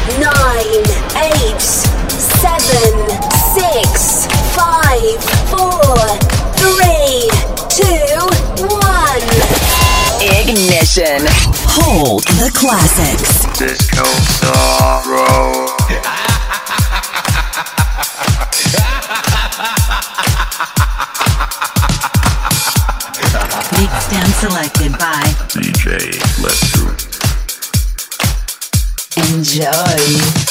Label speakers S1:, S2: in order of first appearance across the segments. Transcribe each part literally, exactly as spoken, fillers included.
S1: nine, eight, seven, six, five, four, three, two, one.
S2: Ignition. Hold the classics.
S3: Disco Sorrow.
S2: Mixed and selected by
S3: D J Lesu.
S2: Enjoy.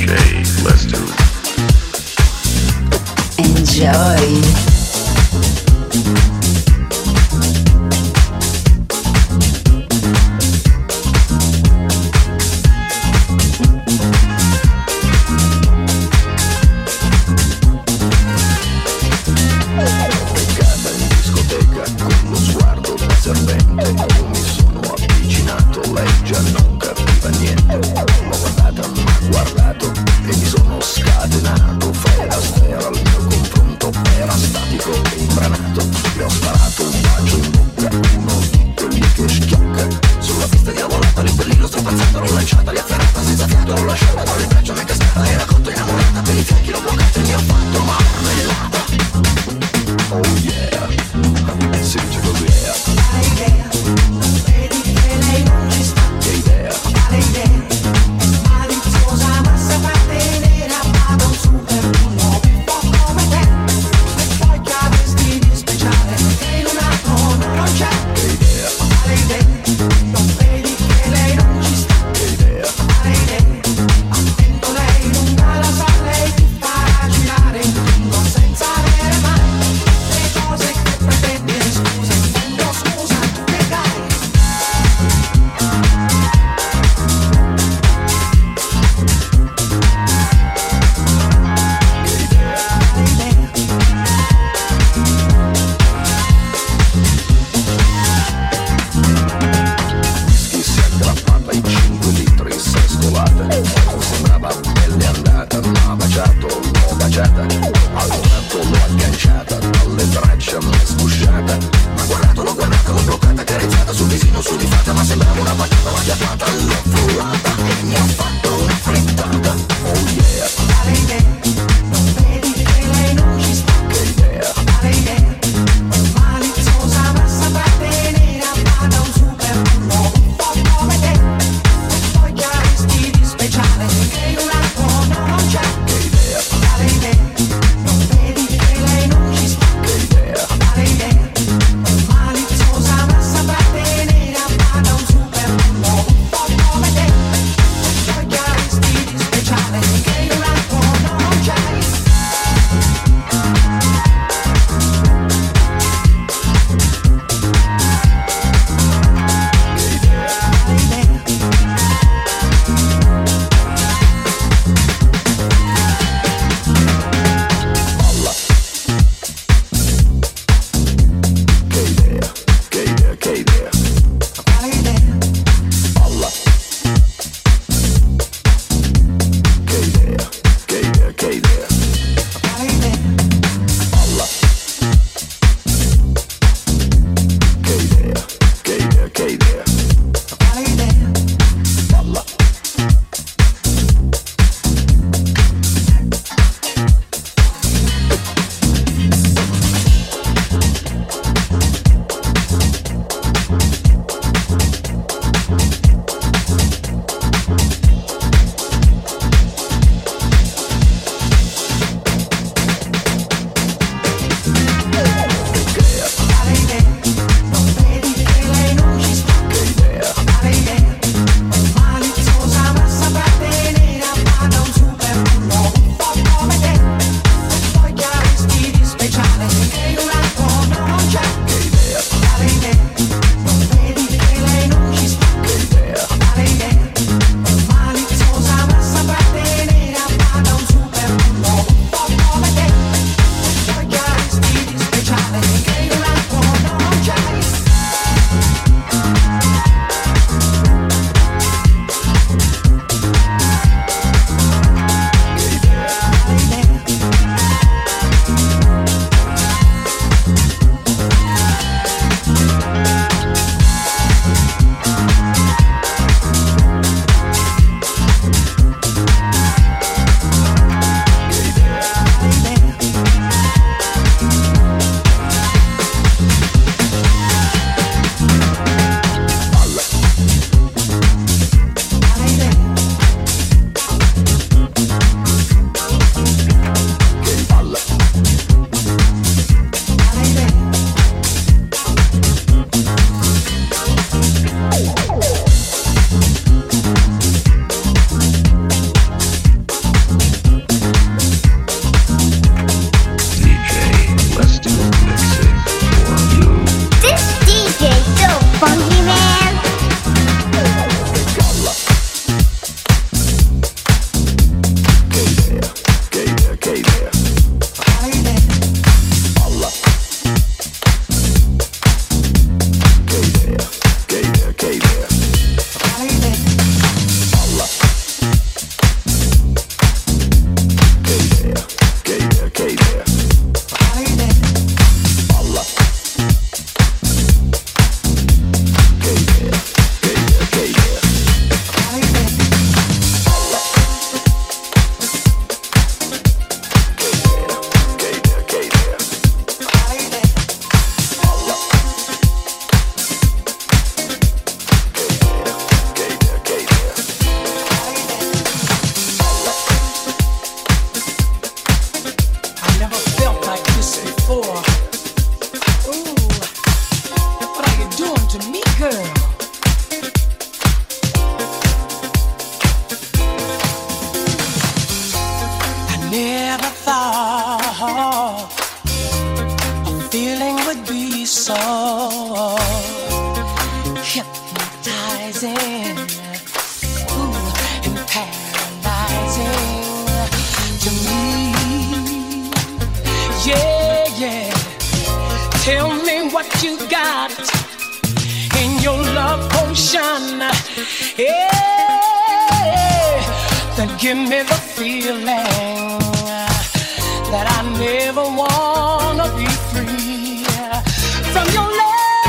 S3: J, let's do it.
S2: Enjoy.
S4: Never thought a feeling would be so hypnotizing, ooh, and paralyzing to me. Yeah, yeah. Tell me what you got in your love potion. Yeah, then give me the feeling that I never wanna be free from your love.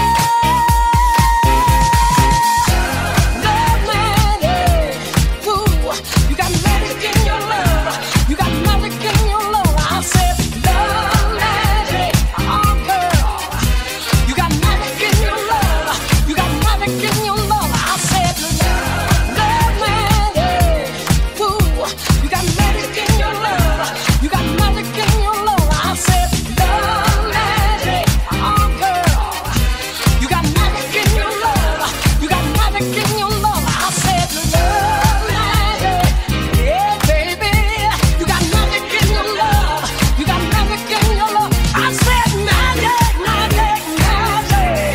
S4: Love magic, ooh, you got magic in your love. You got magic in your love. I said love magic, oh girl. You got magic in your love. You got magic in your love. I said love magic, ooh, you got magic in your love. You got magic in your love. I said love magic, oh girl. You got magic in your love. You got magic in your love. I said love magic, yeah baby. You got magic in your love. You got magic in your love. I said magic, magic, magic.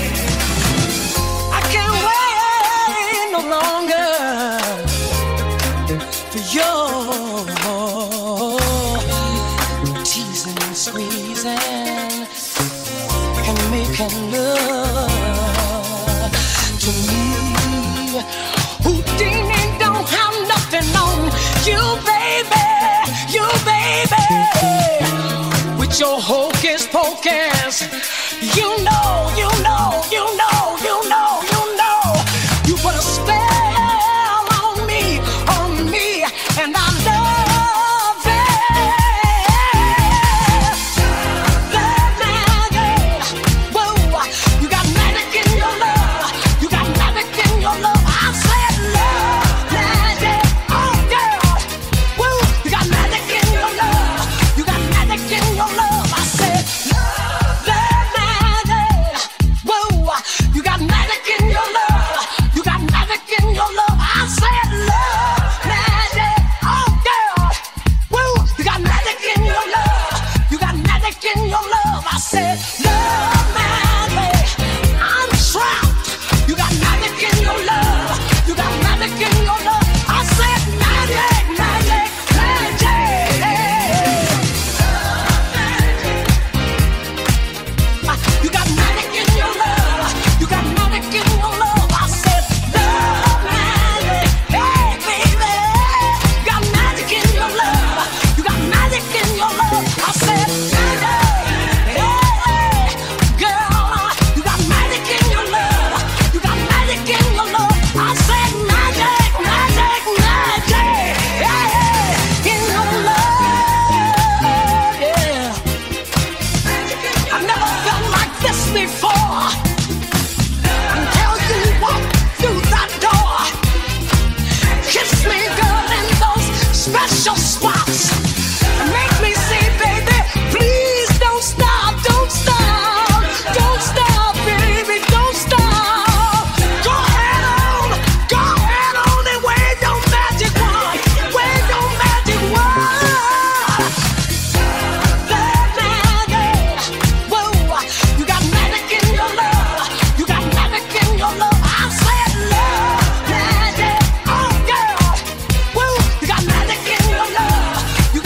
S4: I can't wait no longer for your teasing and squeezing and making love to me. Houdini don't have nothing on you, baby, you, baby. With your hocus pocus, you know, you know, you know, you know, you know. You put a spell on me, on me, and I love it. Love magic, whoa, you got magic in your love. You got magic in your love. I said love magic, oh girl, whoa, you got magic in your love. You got magic in your love. I said love magic, whoa, you got magic in your love. You got magic in your love. I said love magic, oh girl, woo, you got magic in your love. You got magic in your love. I said love magic, I'm trapped. You got magic in your love. You got magic in your love. I said magic, magic, magic. You got magic in your love. You got magic in your love. I said love magic, hey baby. You got magic in your love. You got magic in your love. I said magic, hey girl. You got magic in your love. You got magic in your love. I said magic, magic, magic, yeah, in your love, yeah. I never felt like this before until you walk through that door. Kiss me, girl, in those special spots. And make me say, baby, please don't stop, don't stop, don't stop, baby, don't stop. Go ahead on, go ahead on and wave your magic wand, wave your magic wand. Love magic, whoa, you got magic in your love. You got magic in your love. I said love magic, oh girl, whoa, you got magic in your love. You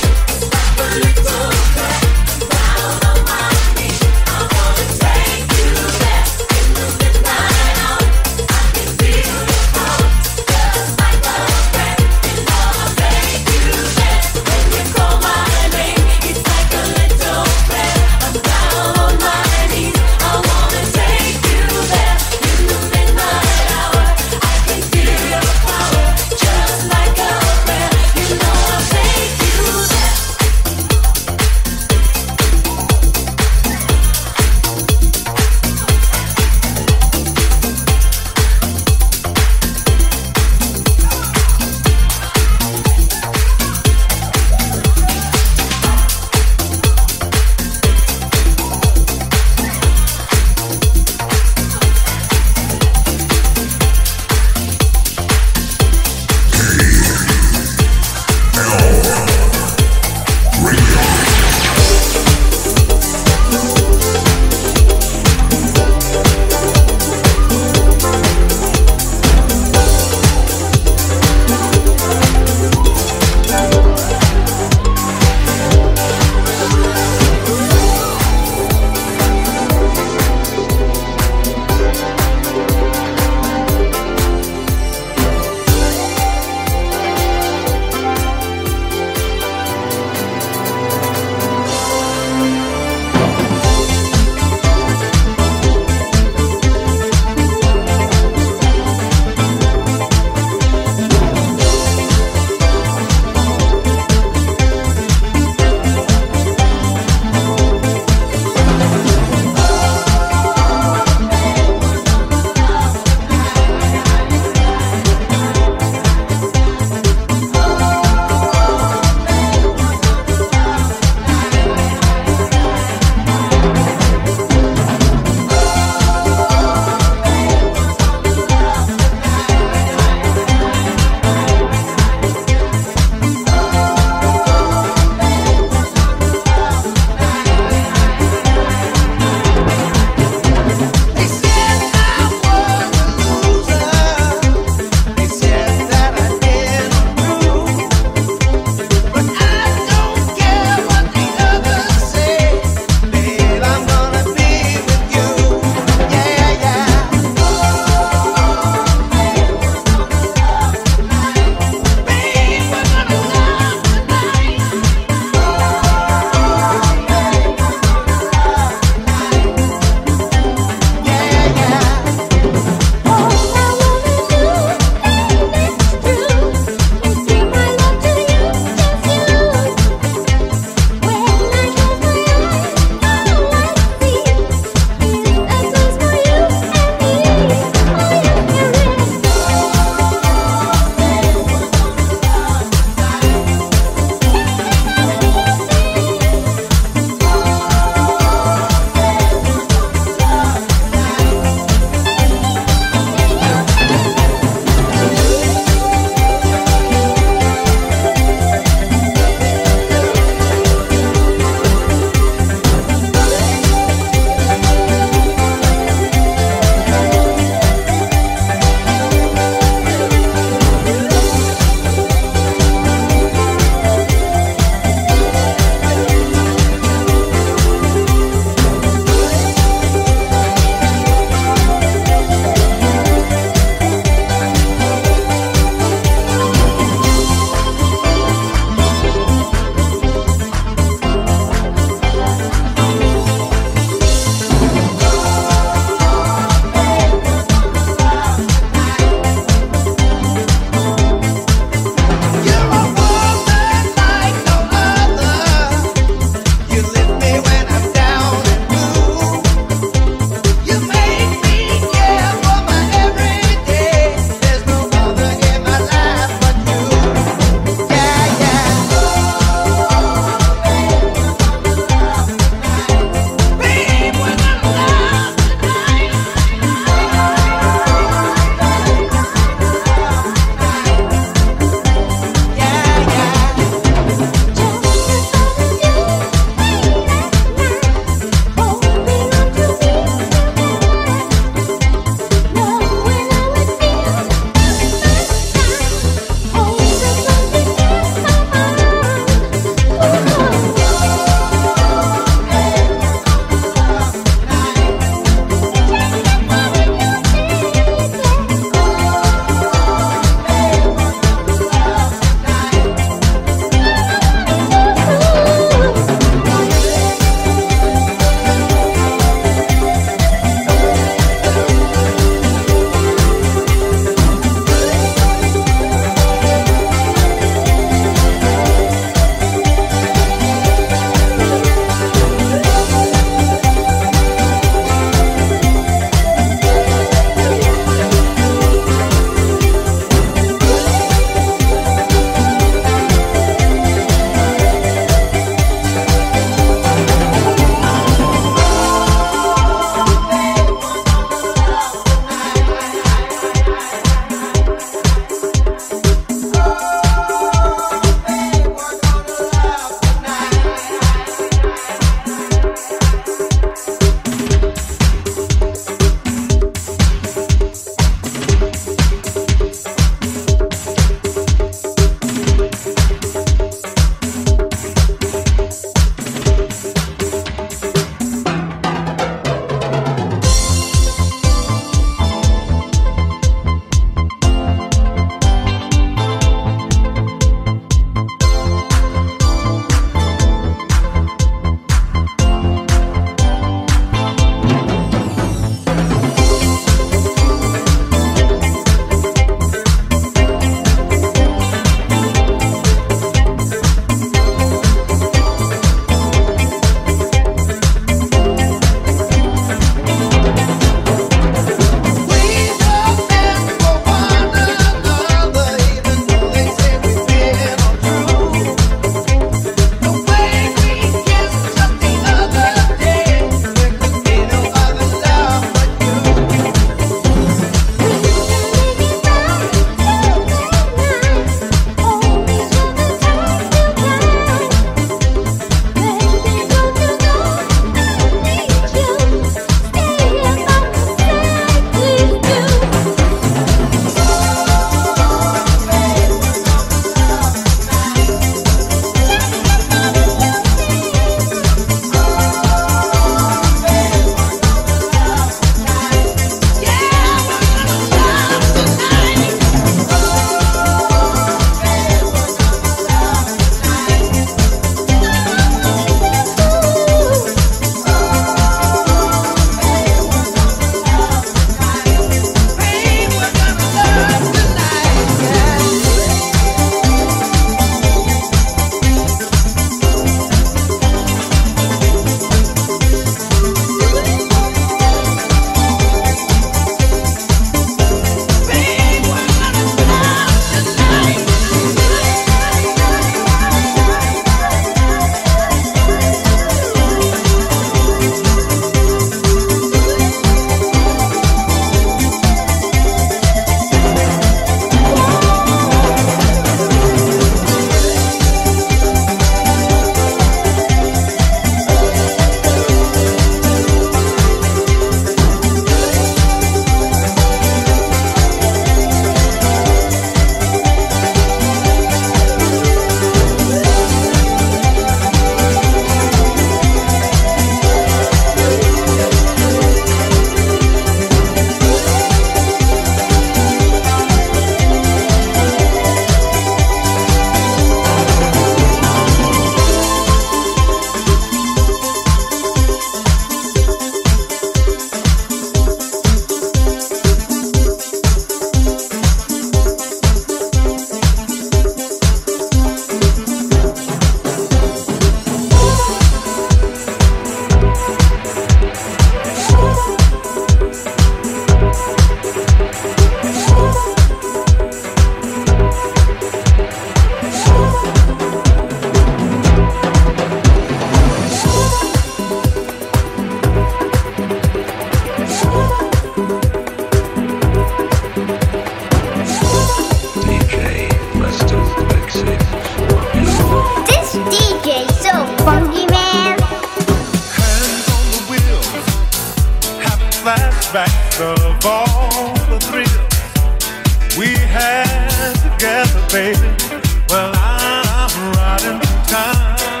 S5: Flashbacks of all the thrills we had together, baby. Well, I'm riding through time.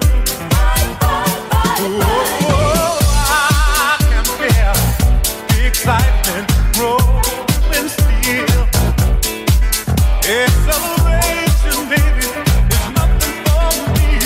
S5: Oh, I can feel the excitement growing still. A celebration, baby, is nothing for me.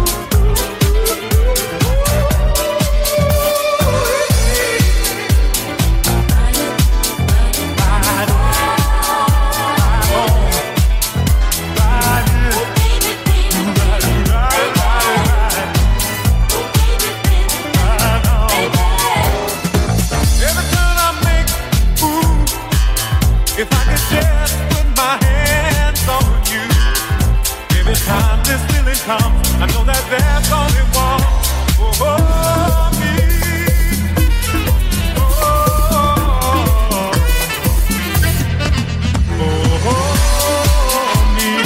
S5: If I could just put my hands on you, every time this feeling comes, I know that there's only one for me. Oh, for me.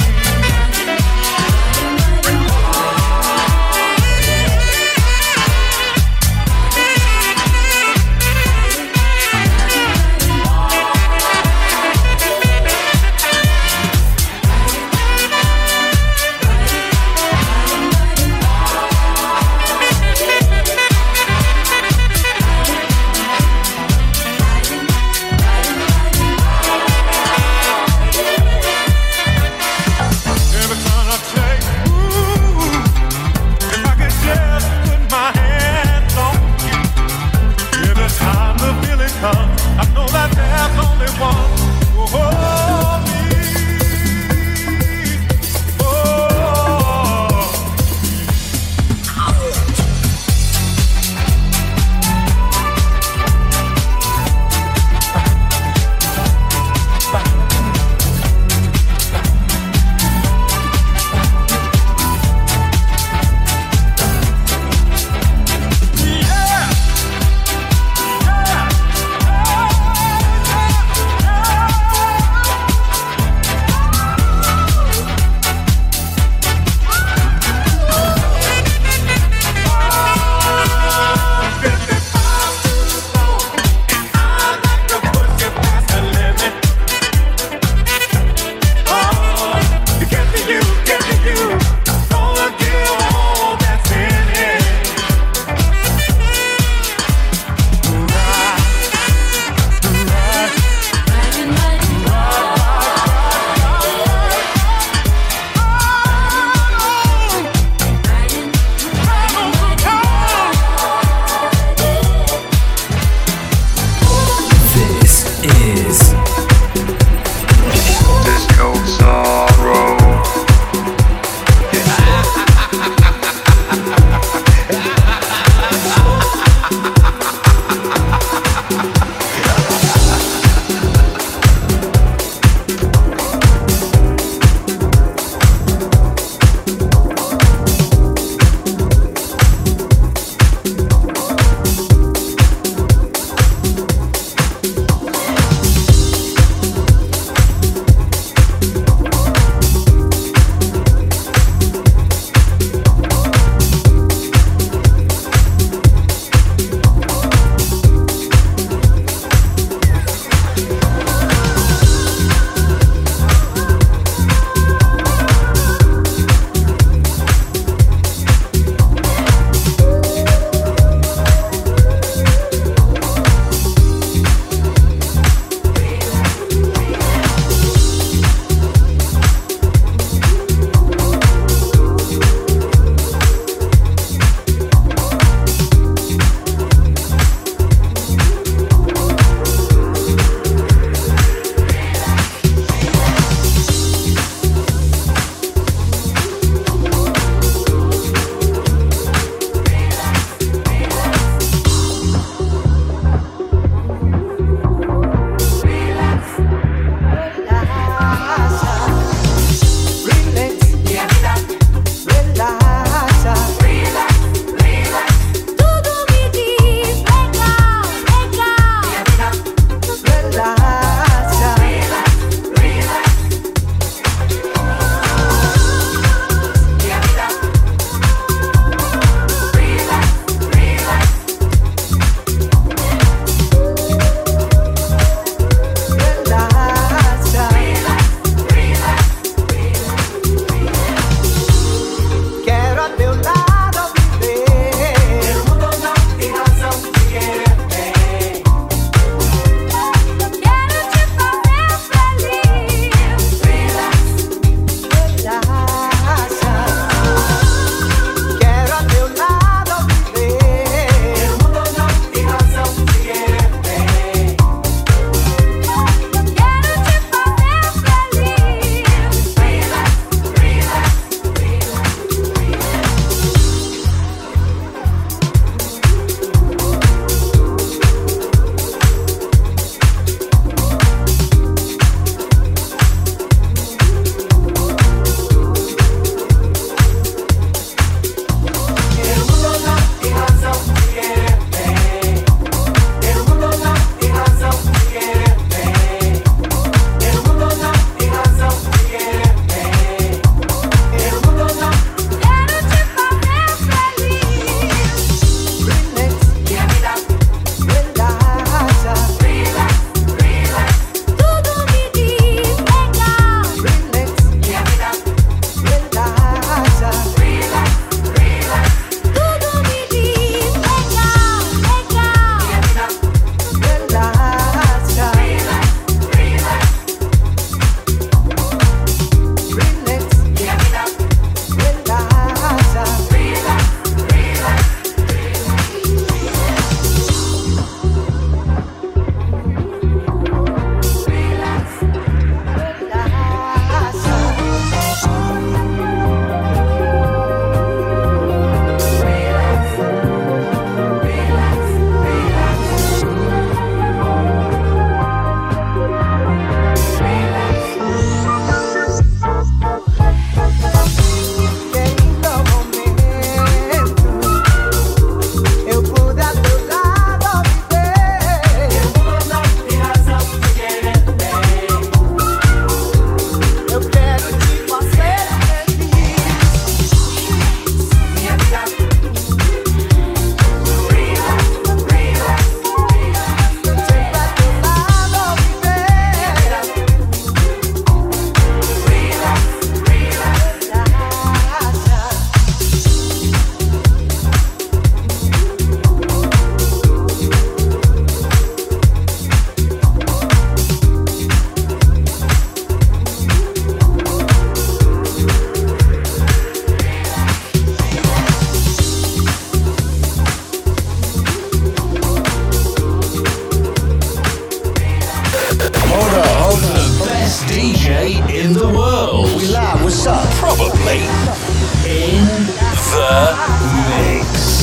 S6: Hold up, hold up.
S7: The best D J in the world.
S6: We live, what's up?
S7: Probably in the mix.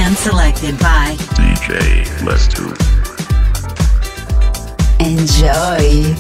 S2: Hand selected by
S3: D J Lestu.
S2: Enjoy.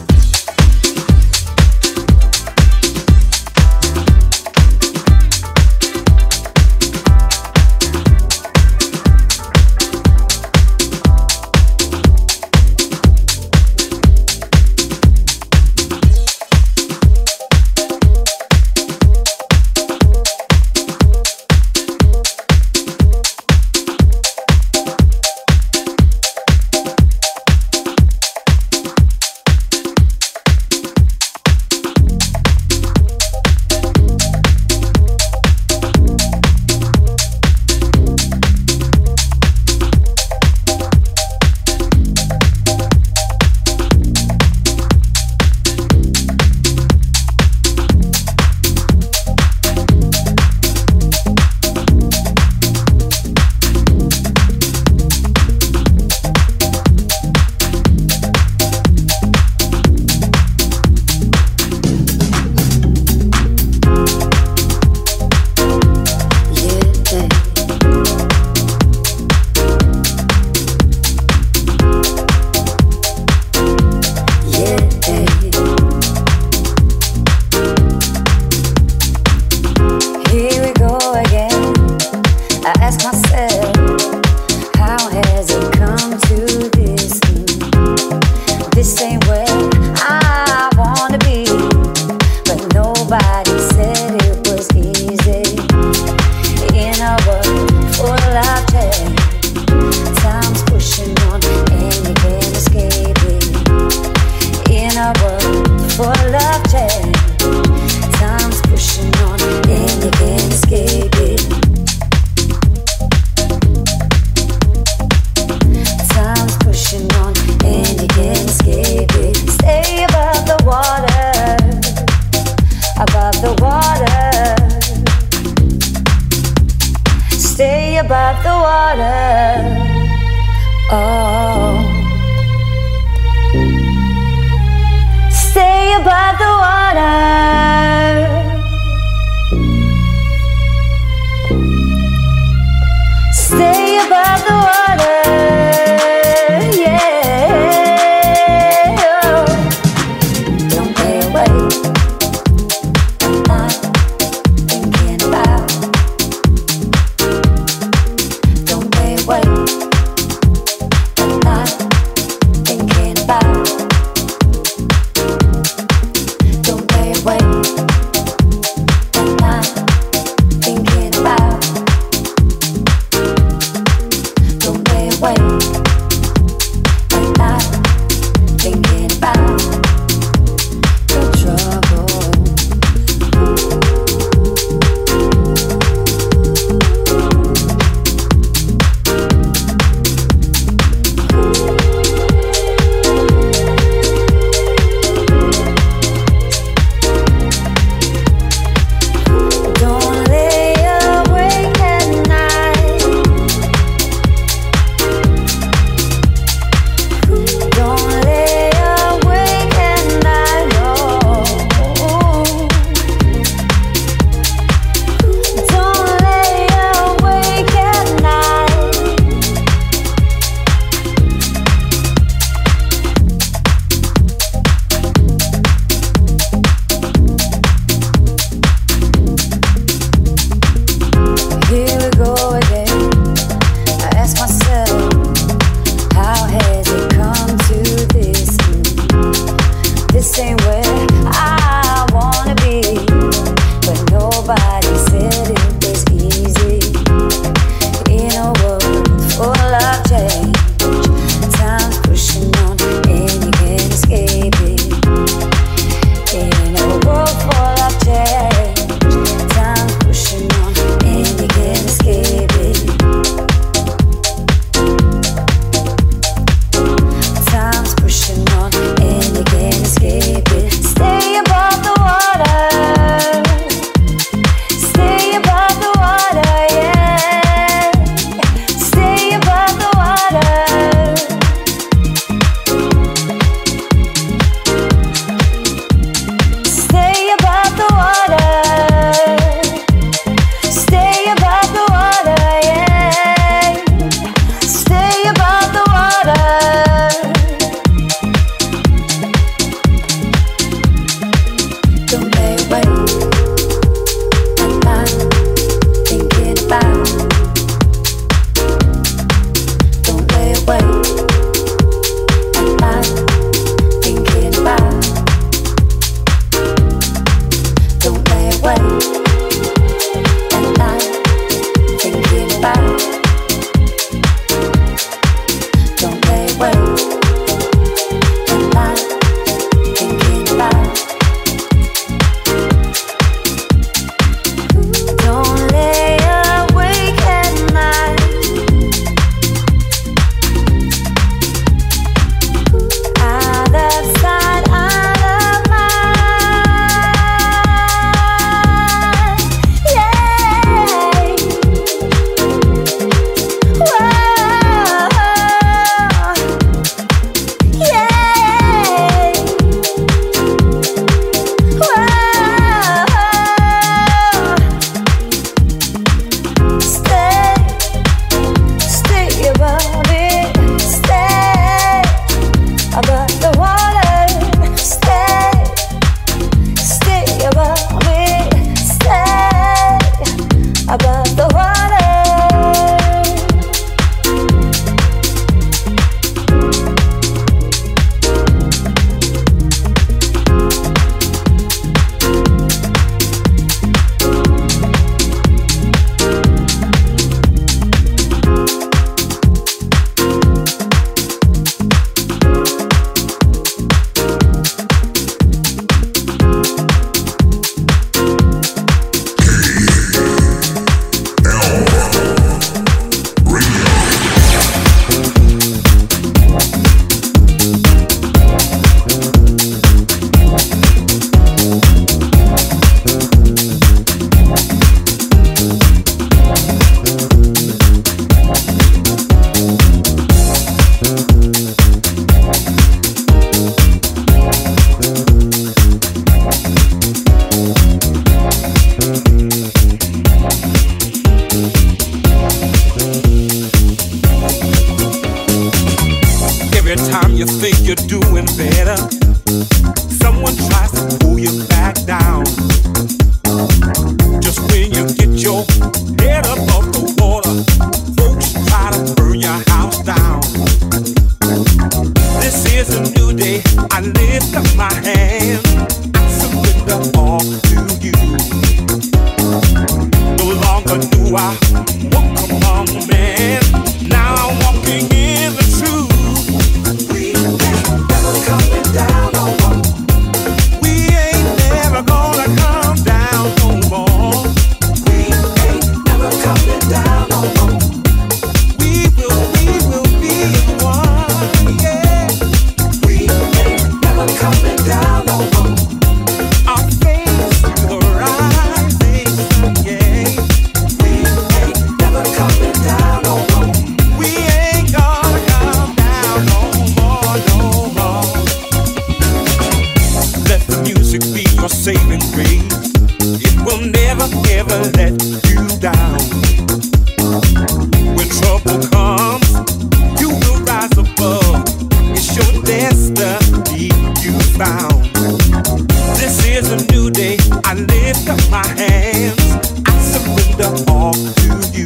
S5: music be your saving grace. It will never ever let you down. When trouble comes, you will rise above. It's your destiny you found. This is a new day. I lift up my hands. I surrender all to you.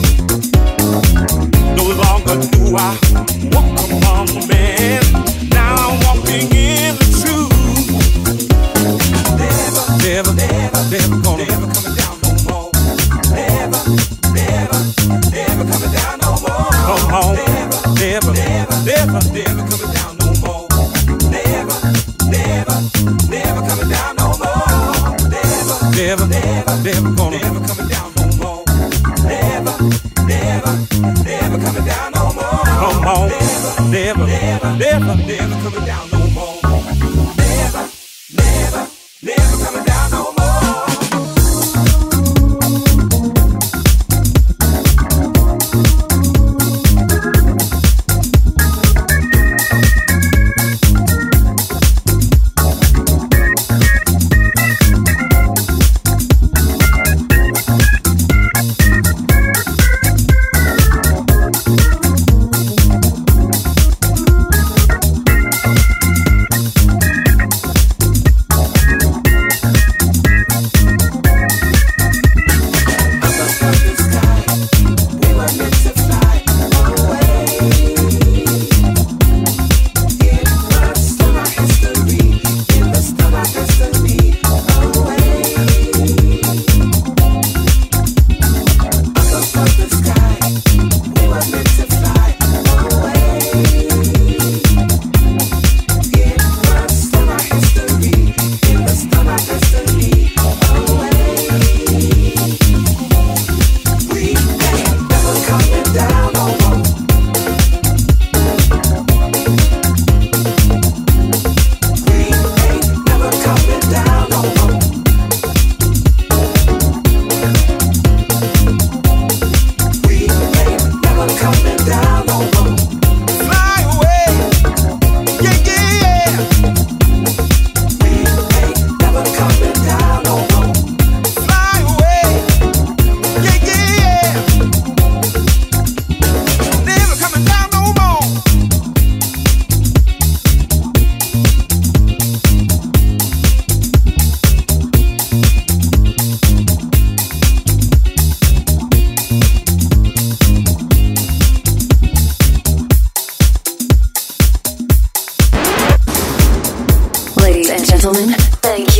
S5: No longer do I walk among men. Now I'm walking in the truth. Never, never, never, never gonna never coming down no more. Never, never, never coming down no more. Come on, never, never, never, never coming down no more. Never, never, never coming down no more. Never, never, never, never gonna never coming down no more. Never, never, never coming down no more. Come on, never, never, never, never coming down no more. Never, never, never coming down no more.
S1: Thank